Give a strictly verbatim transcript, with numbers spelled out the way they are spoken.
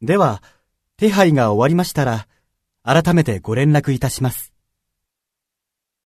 では、手配が終わりましたら、改めてご連絡いたします。